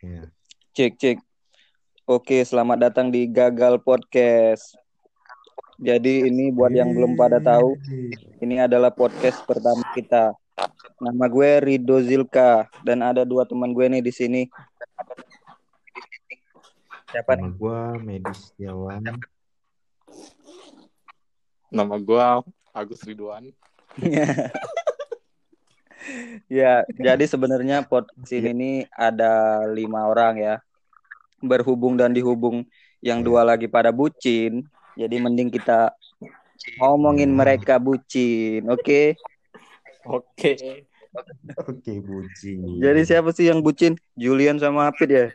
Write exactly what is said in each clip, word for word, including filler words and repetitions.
Ya. Cek cek. Oke, selamat datang di Gagal Podcast. Jadi ini buat yang belum pada tahu, ini adalah podcast pertama kita. Nama gue Rido Zilka dan ada dua teman gue nih di sini. Siapa Nama nih? gue Medis Setiawan. Nama gua Agus Ridwan. Ya, jadi sebenarnya podcast ini nih ada lima orang ya, berhubung dan dihubung. Yang Ya. dua lagi pada bucin, jadi mending kita ngomongin Ya. mereka bucin, oke? Oke. Oke, bucin. Jadi siapa sih yang bucin? Julian sama Hafid ya?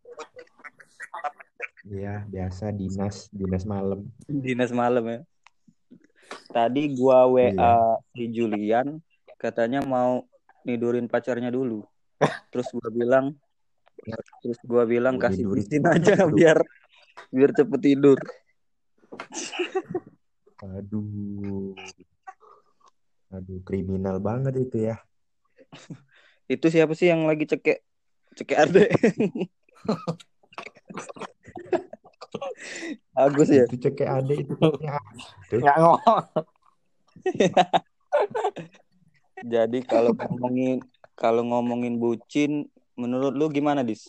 Ya, biasa dinas, dinas malam. Dinas malam ya. Tadi gua W A Iya. si Julian, katanya mau nidurin pacarnya dulu. Terus gua bilang, terus gua bilang Gua kasih tidurin pisin banget aja tuh. biar biar cepet tidur. Aduh. Aduh, kriminal banget itu ya. Itu siapa sih yang lagi cekek cekek adek? Agus ya. Itu cekek adek itu. Ya. Nggak ngomong. Jadi kalau ngomongin kalau ngomongin bucin, menurut lu gimana, Dis?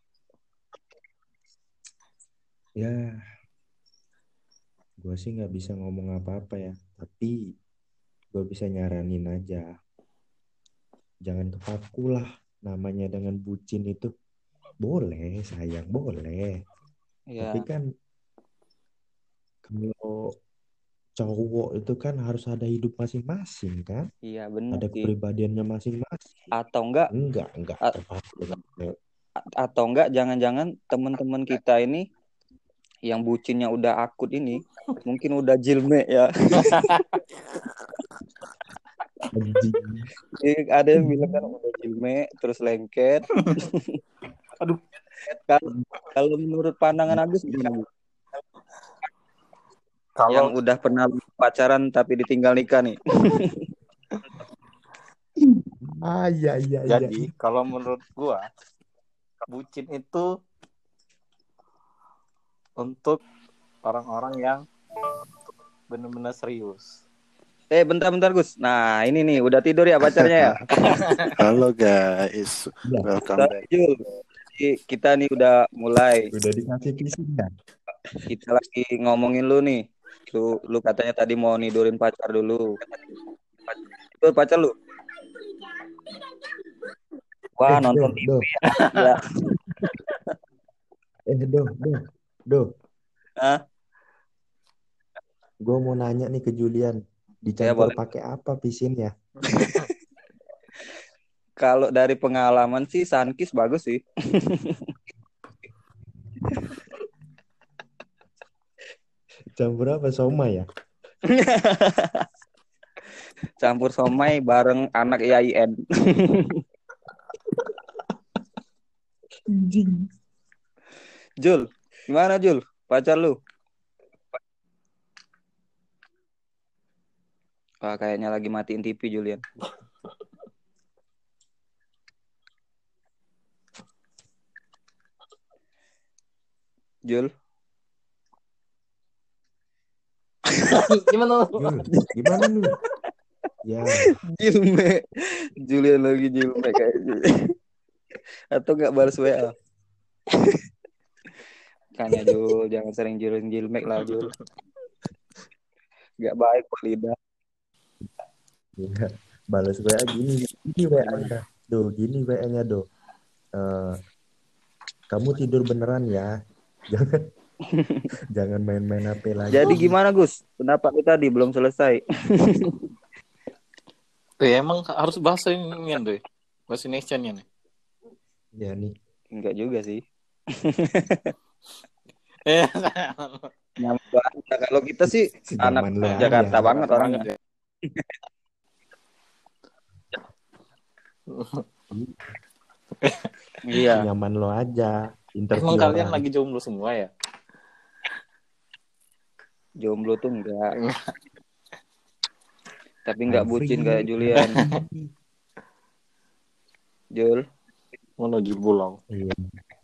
Ya, gue sih nggak bisa ngomong apa-apa ya. Tapi gue bisa nyaranin aja. Jangan kepaku lah. Namanya dengan bucin itu. Boleh, sayang, boleh. Ya, Tapi kan kalau cowok itu kan harus ada hidup masing-masing kan? iya benar Ada sih. kepribadiannya masing-masing. Atau enggak Enggak, enggak a- terpaku dengan cewek. atau enggak jangan-jangan teman-teman kita ini yang bucinnya udah akut ini mungkin udah jilme ya. Anjing. Eh, ada yang bilang kan udah jilme terus lengket. Aduh. Kalau kalau menurut pandangan Agus gimana, Bu? Yang Kalau udah pernah pacaran tapi ditinggal nikah nih. Ah, iya, iya, iya. jadi kalau menurut gua bucin itu untuk orang-orang yang benar-benar serius. Eh bentar-bentar Gus. Nah ini nih udah tidur ya pacarnya ya. Halo guys, Ya. welcome back. Jul, jadi kita nih udah mulai. Udah dikasih pisin ya? Kita lagi ngomongin lu nih. Lu, lu katanya tadi mau nidurin pacar dulu. Itu pacar lu? Wah Eh, nonton do, T V do. ya. Ya. Eh, do, do, do. Hah? Gue mau nanya nih ke Julian. Ya, Dicampur boleh. pakai apa pisinnya? Kalau dari pengalaman sih Sunkist bagus sih. Campur apa? Soma ya? Campur somai bareng anak I A I N. Anjing. Jul, gimana Jul? Pacar lu? Wah, kayaknya lagi matiin T V Julian. Jul. Gimana? Jul, gimana lu? Ya, Jilme. Julian lagi jilme kayaknya. Atau nggak balas W A? Kan ya Jul, jangan sering Jul jilmek lah Jul. Gak baik buat lidah. ya. Balas W A gini, gini W A-nya. Do, gini W A-nya do. Eh, kamu tidur beneran ya? Jangan jangan main-main H P lagi. Jadi gimana Gus? Pendapat lu tadi belum selesai. Eh, emang harus bahasa ini deh. Bahasa Indonesia-nya nih. Ya nih. Enggak juga sih. Eh, Nyaman banget. Kalau kita sih anak Sejaman lu Jakarta aja. banget orangnya. ya. Iya. Nyaman lo aja. Interview Emang kalian orang. lagi jomblo semua ya? Jomblo tuh enggak. Tapi I'm enggak bucin free. kayak Julian. Jul. Mana Jul pulang? Iya.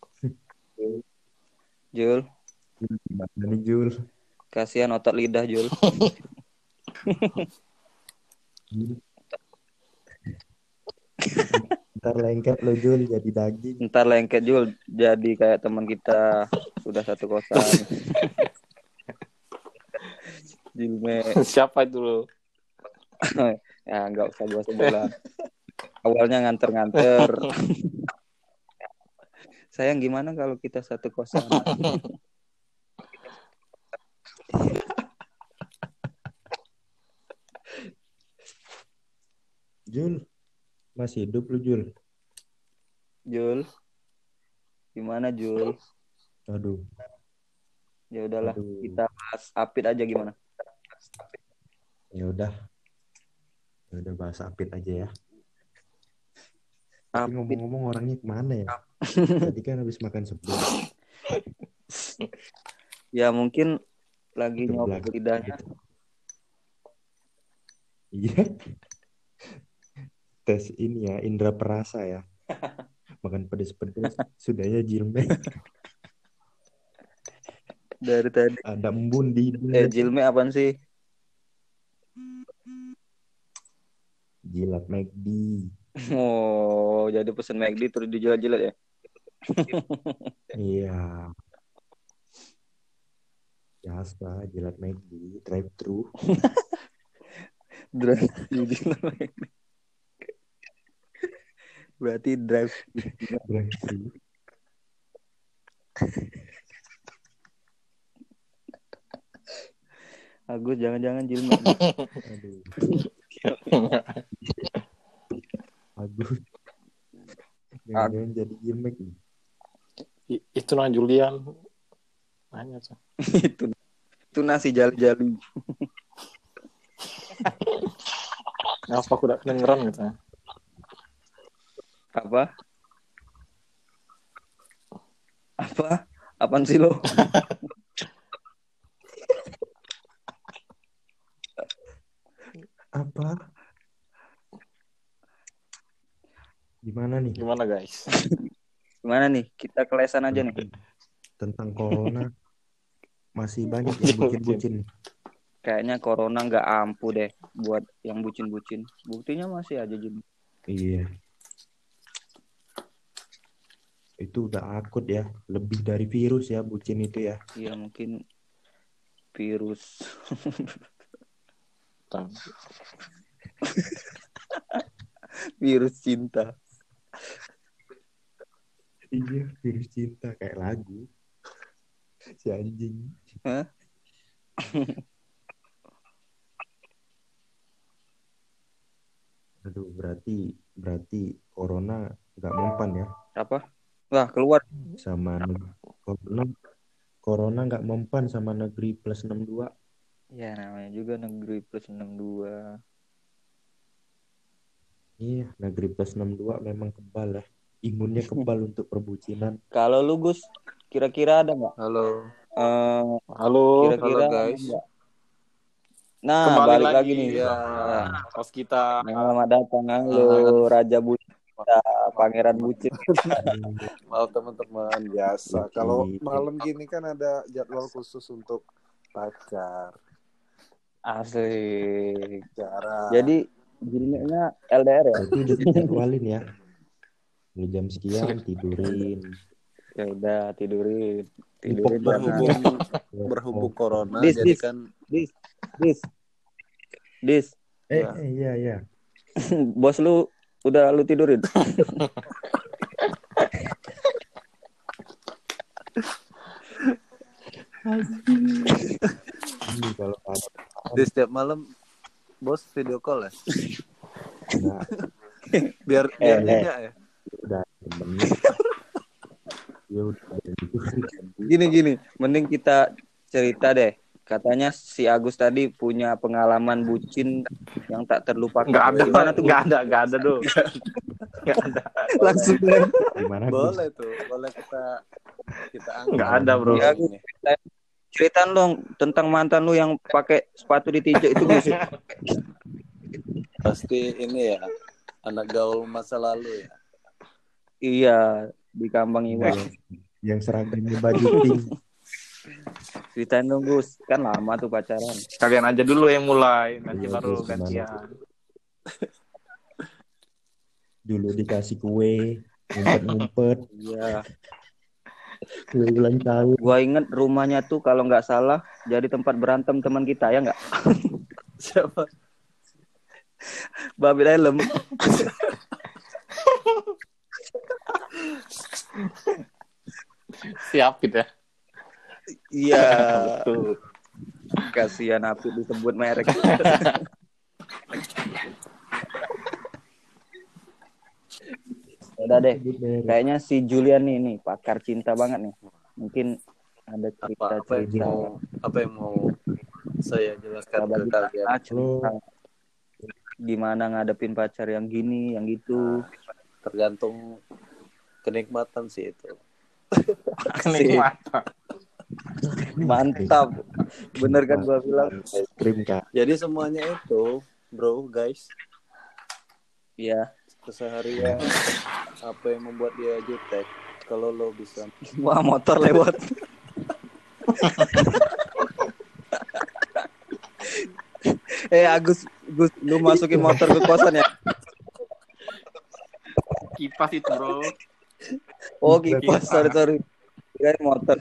Jul, Gimana nih Jul? kasihan otot lidah Jul. Ntar lengket lo Jul jadi daging. Ntar lengket Jul jadi kayak teman kita sudah satu kosan. Jilme. Siapa itu lo? Ya nggak usah gua sebut lah. Awalnya nganter-nganter. Sayang gimana kalau kita satu kosan? Jul, masih hidup lu Jul? Jul, gimana Jul? Aduh. Ya udahlah, Aduh. kita bahas Apit aja gimana? Ya udah. Ya udah bahas Apit aja ya. Apit. Tapi ngomong-ngomong orangnya kemana ya? Tadi kan habis makan sebelum. Ya mungkin lagi Ke nyopot belakang lidahnya. gitu. Iya. Tes ini ya, indera perasa ya. Makan pedes-pedes, sudahnya jilme. Dari tadi. Ada embun di hidung. Eh jilme apaan sih? Jilat McD. Oh, jadi pesen McD terus dijilat-jilat ya? Iya. Biasa, jilat McD, drive thru. Drive dijilat McD. Berarti drive drive thru. Agus jangan-jangan jilme. Aduh. Agus. Jangan-jangan jadi jilmek. I- itu nah Julian. Nanya tuh. itu itu nasi jali-jali. Apa aku udah kedengeran gitu ya? Apa? Apa? Apaan sih lo? Apa? Gimana nih? Gimana guys? Gimana nih? Kita kelesan aja nih. Tentang corona. Masih banyak yang bucin-bucin. Kayaknya corona nggak ampuh deh buat yang bucin-bucin. Buktinya masih aja jadi. Iya. Itu udah akut ya. Lebih dari virus ya bucin itu ya. Iya mungkin virus. Virus cinta. Iya, virus cinta kayak lagu. Si anjing. Hah? Aduh, berarti berarti corona nggak mempan ya Apa? Wah, keluar. sama neg- corona corona nggak mempan sama negeri plus enam puluh dua. Ya namanya juga negeri plus enam puluh dua. Iya, negeri plus enam puluh dua memang kebal ya. Imunnya kebal untuk perbucinan. Kalau lu Gus, kira-kira ada nggak? Halo. Eh, Halo. kira-kira Halo guys. ada nggak? Nah, Kembali balik lagi, lagi nih. ya. Nah, Pas kita selamat datang halo Raja Bucin kita, Pangeran Bucin. Halo teman-teman, biasa. Oke. Kalau malam gini kan ada jadwal khusus untuk pacar. Asik. Cara. Jadi jilmenya L D R ya? Berarti udah dijadwalin ya. Di jam sekian tidurin. Ya udah tidurin. Ipok Tidurin berhubung jangan. berhubung corona, Dis, jadi dis. kan Dis, dis, dis. Eh, Ya. eh iya iya. Bos lu udah lu tidurin? Ini kalau ada di setiap malam bos video call ya, nah, biar Eh, biar eh. nyenyak ya. udah temen. Ya udah ada itu. Gini gini, mending kita cerita deh. Katanya si Agus tadi punya pengalaman bucin yang tak terlupakan. nggak ada, Gimana tuh? nggak ada, nggak ada dong. Nggak ada. Langsung deh. Gimana Gus? Boleh tuh, boleh kita kita angkat. Nggak ada, bro. Ya, Gus, ceritain- ceritain dong tentang mantan lu yang pakai sepatu ditijak itu Gus. Pasti ini ya, anak gaul masa lalu ya. Iya, di Kambang Iwas. Enggak, Yang seragamnya baju pink. Ceritain dong Gus, kan lama tuh pacaran. Kalian aja dulu yang mulai, nanti Iya, baru Gus, gimana, gantian. Dulu dikasih kue, ngumpet-ngumpet, Iya. kue ulang tahun. Gua inget rumahnya tuh kalau nggak salah jadi tempat berantem teman kita ya nggak? Siapa? Babi Dalam. Siap gitu ya. Iya. Betul. Kasihan Apit disebut merek. Udah deh. Kayaknya si Julian nih nih pakar cinta banget nih. Mungkin ada Apa, apa yang cerita-cerita mau apa yang mau saya jelaskan ke bagi kalian? kita cerita gimana ngadepin pacar yang gini, yang gitu. Tergantung kenikmatan sih itu. Kenikmatan. Mantap. Bener kan gua bilang? Krim, Kak. Jadi semuanya itu, bro, guys, Iya. keseharian apa yang membuat dia jutek. Kalau lo bisa Wah, motor lewat. eh Agus, Gus, lu masukin motor ke kosan ya? Kipas itu, bro. Oh, kipas. Sorry, sorry. Kirain motor.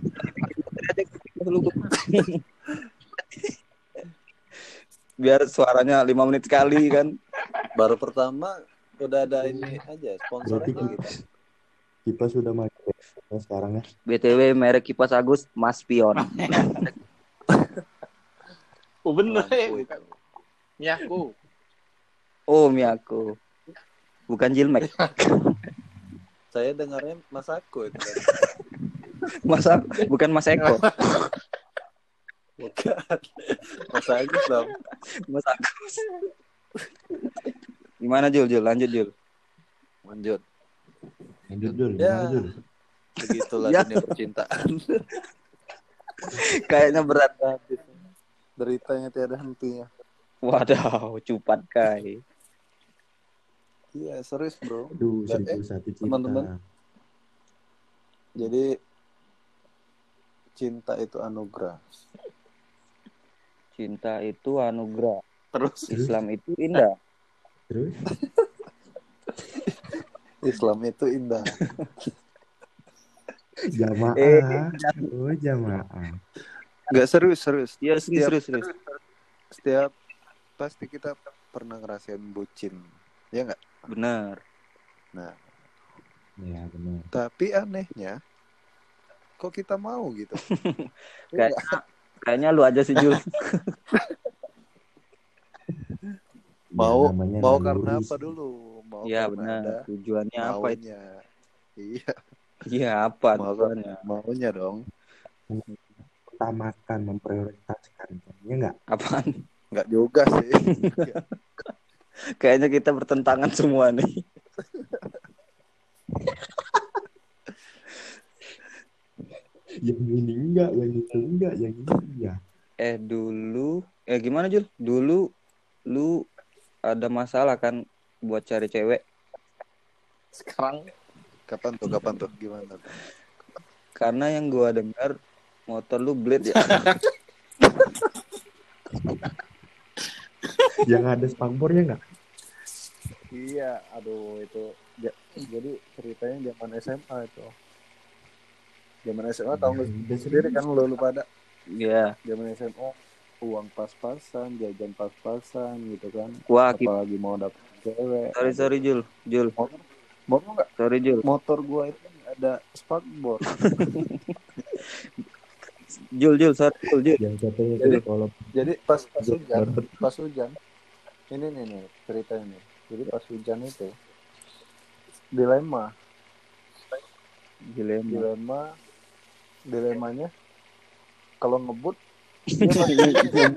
Biar suaranya lima menit sekali kan. baru pertama udah ada ini aja sponsor Berarti aja gitu. kita sudah masuk sekarang ya. B T W merek kipas Agus Mas Pion. Oh bener ya. Lampu itu. Miyaku. Oh, Miyako. Bukan Jilmek. Saya dengarnya Mas Aku itu kan. Mas bukan Mas Eko. Bukan. Mas Agus dong. Mas Agus. Gimana Jul? Jul, lanjut Jul. Lanjut. Lanjut Jul, Ya. gimana Jul? Begitulah Ya. dunia percintaan. Kayaknya berat. Deritanya tiada hentinya. Wadaw, cupat kai. Iya, serius, bro. Aduh, Dan, seribu eh, satu cinta. teman-teman. Jadi cinta itu anugerah. Cinta itu anugerah. Terus Islam itu indah. Terus? Islam itu indah. Jamaah. Eh, Oh, jamaah. Enggak serius, serius. Iya, serius, Setiap- serius, serius. Setiap pasti kita pernah ngerasain bucin. Ya enggak? Benar. Nah, Ya, benar. tapi anehnya kok kita mau gitu? Kayak kayaknya lu aja sih Jul. Mau Ya, namanya mau naluri karena apa sih. dulu? Mau Iya, karena benar. ada Tujuannya apa itu? maunya. Iya, Iya, apa mau tujuannya? maunya dong. Utamakan, memprioritaskan. Ya enggak? Apaan? Enggak juga sih. Kayaknya kita bertentangan semua nih. Yang ini enggak, yang itu enggak, yang ini iya. Eh dulu, eh gimana Jul? Dulu lu ada masalah kan buat cari cewek? sekarang Kapan tuh? Kapan tuh? Gimana tuh? Karena yang gua dengar motor lu blade ya. Yang ada spakbornya enggak? Iya, aduh itu. Ja- jadi ceritanya zaman S M A itu. Zaman S M A tahu nggak Udah sendiri kan lu lu pada Iya. zaman S M A uang pas-pasan, jajan pas-pasan gitu kan. Wah, ki- Apalagi mau dapet cewek. sorry sorry Jul, Jul, Motor, mau nggak? sorry Jul. Motor gua itu ada spakbor. Jul, Jul, sorry Jul, Jul. Yang katanya Jadi- tuh kalau Jadi pas pas hujan, pas hujan, ini nih nih ceritanya nih. Jadi pas hujan itu dilema, Dilema. dilema, dilemanya kalau ngebut dia masih-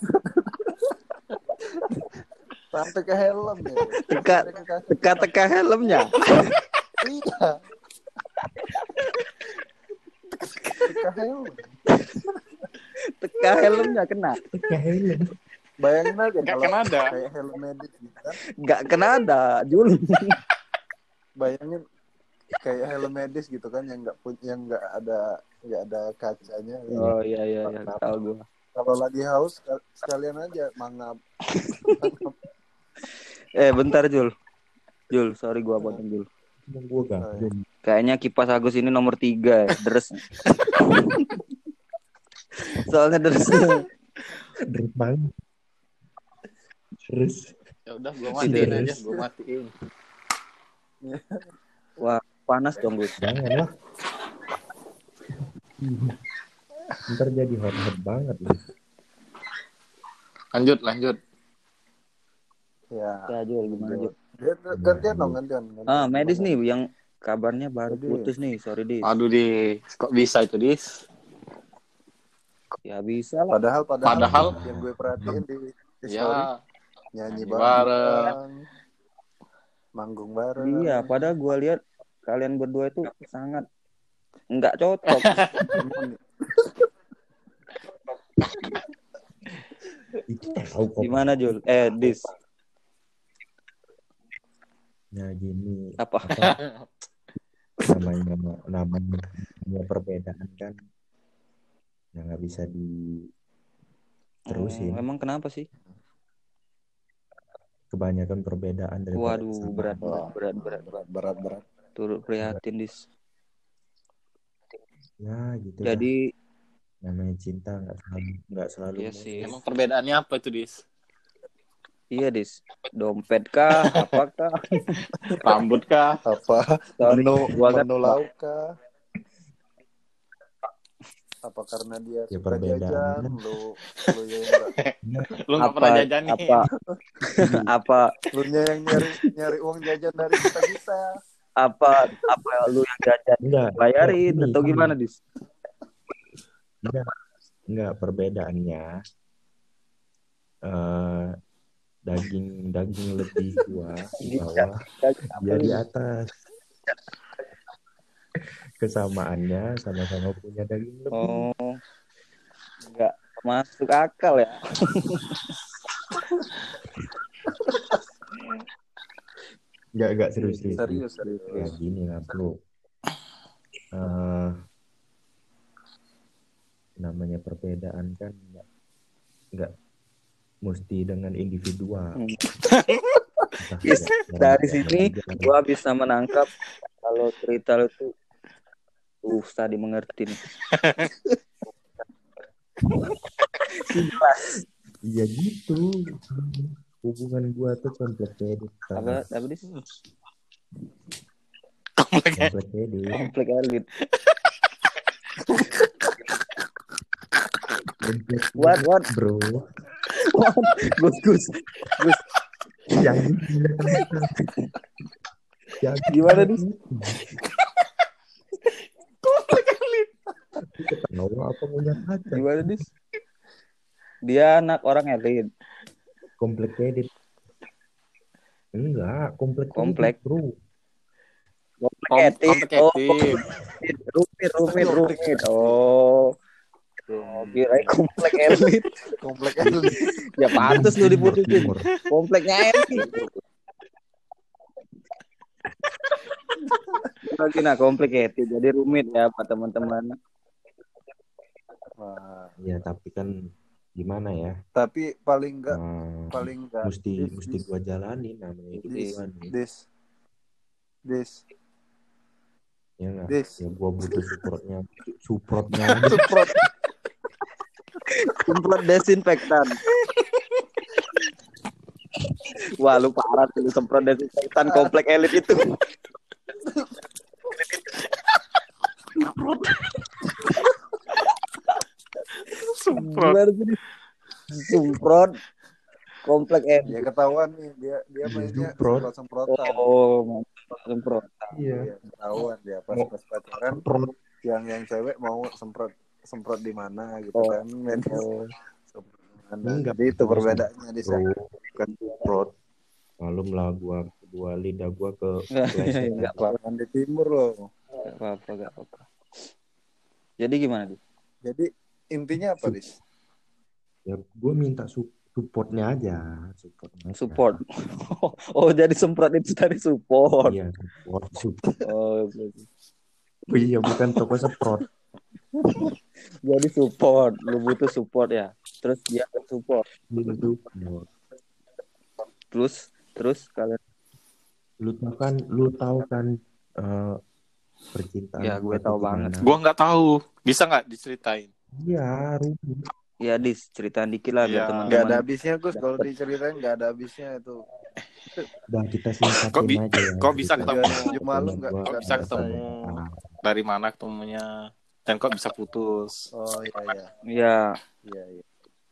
sampai ke helm ya. Teka, Sampai ke kaki. teka-teka helmnya. Iya. Teka helm. Teka helmnya kena. Helm. Bayangin aja nggak kalau kena ada. kayak helm medis gitu kan. Nggak kena ada, Jul. Bayangin kayak helm medis gitu kan yang nggak yang nggak ada nggak ada kacanya. Oh iya iya iya, Nah, tahu gue. kalau lagi haus sekalian aja mangap. Eh bentar Jul. Jul, sorry gua potong Jul. Cuma gue gabung. Kayaknya kipas Agus ini nomor tiga ya, deres. Soalnya deres. Deres banget. Terus Ya udah gua matiin Tidak. aja, gua matiin. Wah, panas dong Gus. jangan lah. Ntar jadi hot-hot banget nih. Lanjut, lanjut. Ya. Ya Jul, gimana Jul? Dia gantian dong, gantian. gantian. Ah, medis nih yang kabarnya baru Jadi. putus nih, sorry Dis. Aduh, Dis. Kok bisa itu, Dis? Ya bisa lah. Padahal, padahal, Padahal. yang gue perhatiin di, di story, Ya, nyanyi nyanyi bareng, manggung bareng. Iya, padahal gua lihat kalian berdua itu sangat nggak cocok. Itu tahu kok. Gimana Jul? Eh, Dis. Nah gini. Apa? namanya namanya namanya perbedaan kan ya nggak bisa diterusin. Oh, emang kenapa sih? Kebanyakan perbedaan daripada Waduh, kesamaan. berat berat berat berat berat. berat berat. Turut prihatin Dis. Ya gitu. Jadi dah. Namanya cinta nggak selalu nggak selalu. iya sih. emang perbedaannya apa itu, Dis? Iya Dis. Dompet kah? Apakah? Rambut kah? Apa? Sorry, menu gua kan- menu lauk kah? Apa karena dia Ya, suka perbedaan. jajan, lu lu yang enggak, Lu nggak apa pernah jajan nih. apa apa lu nya yang nyari nyari uang jajan dari kita kita. apa apa lu yang jajan Enggak. bayarin Ini, atau ini. gimana Dis? Enggak. Enggak perbedaannya. Eh daging daging lebih gua di bawah, dia di atas. Kesamaannya sama-sama punya daging lebih. Oh, nggak masuk akal ya. Enggak enggak serius serius. Serius serius. Ya gini lah bro. Eh namanya perbedaan kan enggak enggak mesti dengan individual. Hmm. Entah Yes, ya, dari ya, sini ya, ya. gua bisa menangkap kalau cerita lu tuh susah dimengerti nih. Iya gitu. Hubungan gua tuh complicated. Apa apa Dis? Complicated. Konflik elit. What what Bro. Gus Gus Gus Yang yang gimana Dis? Ketawa apa punya kaca? Gimana Dis? Dia anak orang elit. Complicated. Enggak, complicated, Komplek. bro. Komplikated. Oh, Complicated. rumit rumit rumit. Oh. Oh, kira komplek elit. Komplek elit. Ya pantas lu diputusin. Timur. Kompleknya elit. Lagi nah complicated. Jadi rumit ya Pak teman-teman. Wah, Ya, tapi kan gimana ya? tapi paling enggak Nah, paling enggak mesti dis, mesti dis, gua jalanin namanya hidup dis, gua nih. dis, dis, Ya enggak? dis. Ya gua butuh supportnya. Supportnya aja. Semprot. Semprot desinfektan. Wah lu parah tuh lu semprot desinfektan komplek elit itu. Semprot. Gimana sih? Semprot komplek elit. Ya ketahuan nih dia dia Iya, mainnya semprot. semprot semprotan. Oh, semprot. Iya. Iya, ketahuan dia pas Mau- pas pacaran Semprot. yang yang cewek mau semprot semprot di mana gitu Oh. kan. Main Oh. semprot di mana. Enggak. Jadi itu perbedaannya di sana. Bro, bukan semprot. Malum lah gua gua lidah gua ke Enggak pleset. apa-apa, Jangan di timur loh. enggak apa-apa, enggak apa-apa. Jadi gimana, Dis? Jadi intinya apa, Dis? Ya gua minta su- supportnya aja, support aja. Support. Oh, jadi semprot itu tadi support. Iya, support, support. Oh, oke. Oh, iya, bukan toko semprot. Jadi support, lu butuh support ya. Terus dia akan support. Iya, support. Terus terus kalian Lu tahu kan, lu tahu kan eh, percintaan ya gua gue tahu tuh banget. gimana? Gua nggak tahu. Bisa nggak diceritain? Iya, rumit. Ya Dis, ceritain dikit lah biar Iya. teman-teman. Nggak ada habisnya Gus, Dapet. kalau diceritain nggak ada habisnya itu. Dan kita Kok singkatin bi- aja ya. kok bisa cerita. ketemu? Tujuh malam nggak Kok nggak bisa selesai. ketemu? Dari mana ketemunya? Dan kok bisa putus? Oh iya iya Ya, iya iya.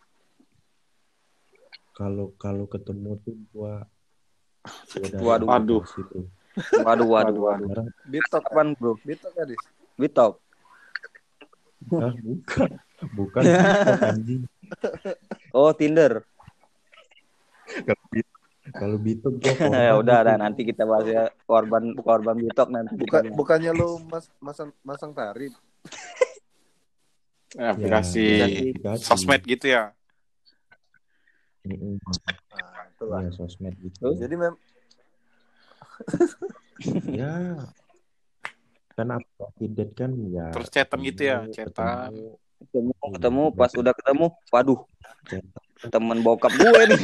Kalau kalau ketemu tuh gua gua dari Waduh. Waduh. kelas itu. waduh waduh waduh. Sekarang Bitok kan? Kapan, Bro? Bitok kan, Dis? Bitok. ah, bukan bukan TikTok, anjing. Oh, Tinder. Kalau Bit- Kalau Bitok gua Ya korban udah, gitu. dah nanti kita bahas ya korban korban Bitok nanti. Bukan kita bahas. bukannya lu mas, masang masang tarif? Aplikasi Ya, aplikasi. sosmed gitu ya? Mm-mm. Nah, itulah. Iya, sosmed gitu. Terus? Jadi mem Ya, kan aplikasi date kan ya. Terus chatan gitu ya? ketemu, Chatan. ketemu, Ketemu, Iya, ketemu udah pas ketemu. udah ketemu, waduh, chatan. temen bokap gue nih.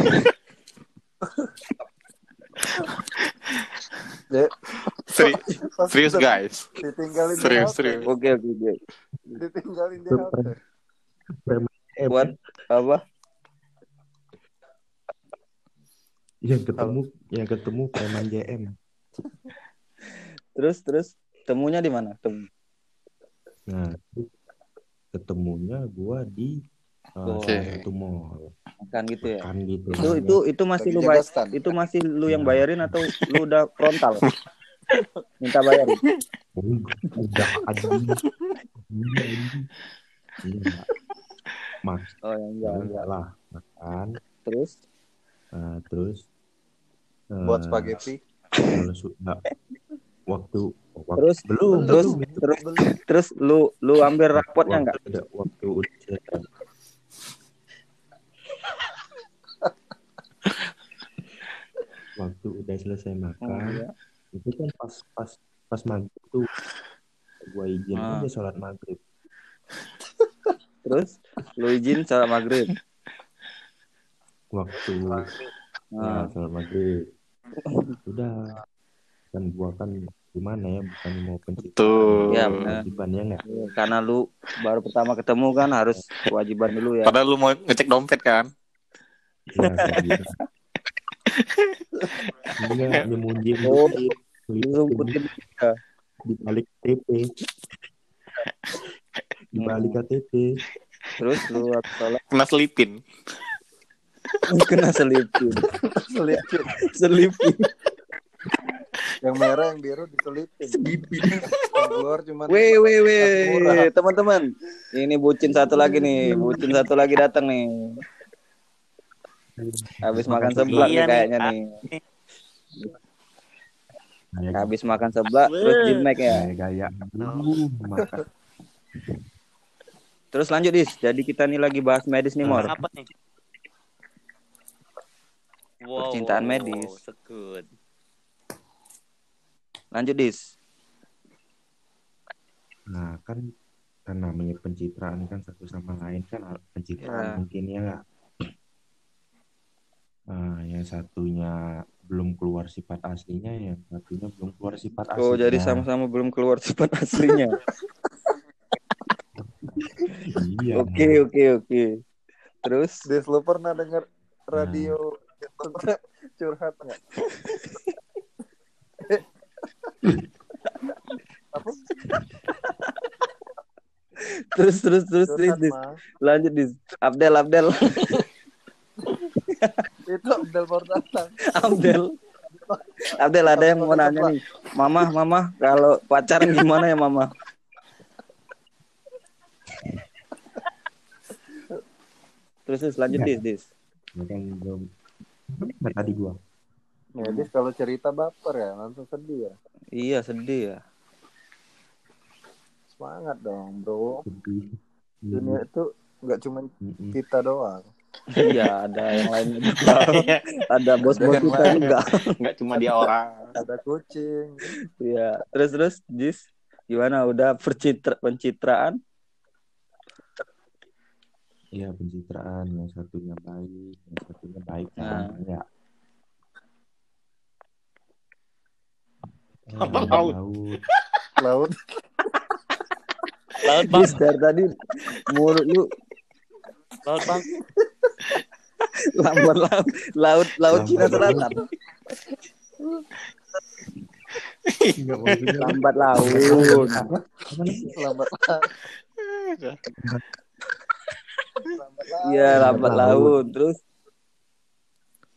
ya, Seri- pas serius udah guys. ditinggalin di Serius, halte. serius. Oke oke oke. Ditinggalin di Itu halte. pre- preman J M Buat kan? apa? Yang ketemu, yang ketemu preman J M. Terus terus temunya di mana? Temu. Nah, ketemunya gua di uh, Oke. salah satu mall. Makan gitu ya. Makan gitu. Itu namanya. itu itu masih Lagi lu jaga bayar, stand. itu masih lu yang Ya. bayarin atau lu udah frontal? Minta bayarin. Oh, udah anjing. Iya, anjing. Iya. Mas, Oh ya enggak ya enggak. enggak lah. Makan. Terus Uh, terus uh, Buat spaghetti. kalau sudah waktu, waktu terus belum terus belum itu terus terus lu lu ambil rapotnya enggak? waktu, udah, waktu udah selesai. Waktu udah selesai makan, Oh, iya. itu kan pas pas pas maghrib tuh gua izin Ah. aja sholat maghrib. Terus lu izin salat maghrib. Waktu ya Nah, sholat maghrib udah, kan gua kan gimana ya, bukan mau pencitraan, Betul. Iya, benar. kewajiban ya nggak. karena lu baru pertama ketemu kan harus kewajiban dulu ya. Padahal lu mau ngecek dompet kan? Ya kewajiban. Enggak, nyemunjin Oh, dikit, lu ngumpetin di balik K T P, di balik K T P. terus lu waktu sholat Kena selipin. kena selipin. Selipin. Selipin. Yang merah yang biru diselipin. Yang keluar cuma Weh weh murah. weh, teman-teman. Ini bucin satu lagi nih, bucin satu lagi datang nih. Habis makan seblak nih Iya nih. kayaknya nih. Kayak Habis makan seblak terus jimek ya. kayak gaya dulu makan. Terus lanjut Dis. Jadi kita nih lagi bahas medis nih Mor. Apa nih? Wow, Percintaan wow, wow, medis. wow, so good. Lanjut Dis. Nah kan kan namanya pencitraan kan satu sama lain kan pencitraan Ya. mungkin ya nggak. Nah, yang satunya belum keluar sifat aslinya, yang satunya belum keluar sifat aslinya. Oh, jadi sama-sama belum keluar sifat aslinya. Iya. Oke, oke, oke. Terus Des, lu pernah denger radio curhat nggak? Apa? terus terus terus terus Curhat Dis. mah. Lanjut Dis. Abdel Abdel. Itu Abdel Portatan. Abdel. Abdel ada yang mau nanya nih. Mama, mama, kalau pacaran gimana ya mama? Terus terus lanjut Dis, Dis. Ya kan belum. Nah, tadi gua. Ya, Des, kalau cerita baper ya, langsung sedih ya. Iya, sedih ya. Semangat dong, bro. Sedih. Dunia itu nggak cuma Mm-mm. kita doang. Iya, ada yang lainnya juga. Ada bos-bos Yang kita lain. juga. Nggak cuma dia orang. Ada kucing. Iya. Terus terus Jis, gimana? Udah percitra pencitraan? Iya, pencitraan. Yang satunya baik, yang satunya baik. Nah. Ya. Apa Eh, laut? laut. Laut. Laut bang, Jis dari tadi mulut lu laut bang. lambat laut laut laut Cina Lambat laut. Selatan. Enggak maksudnya. Lambat laut. Apa? Apa nih? Lambat. Iya, lambat Lambat laut. laut. Terus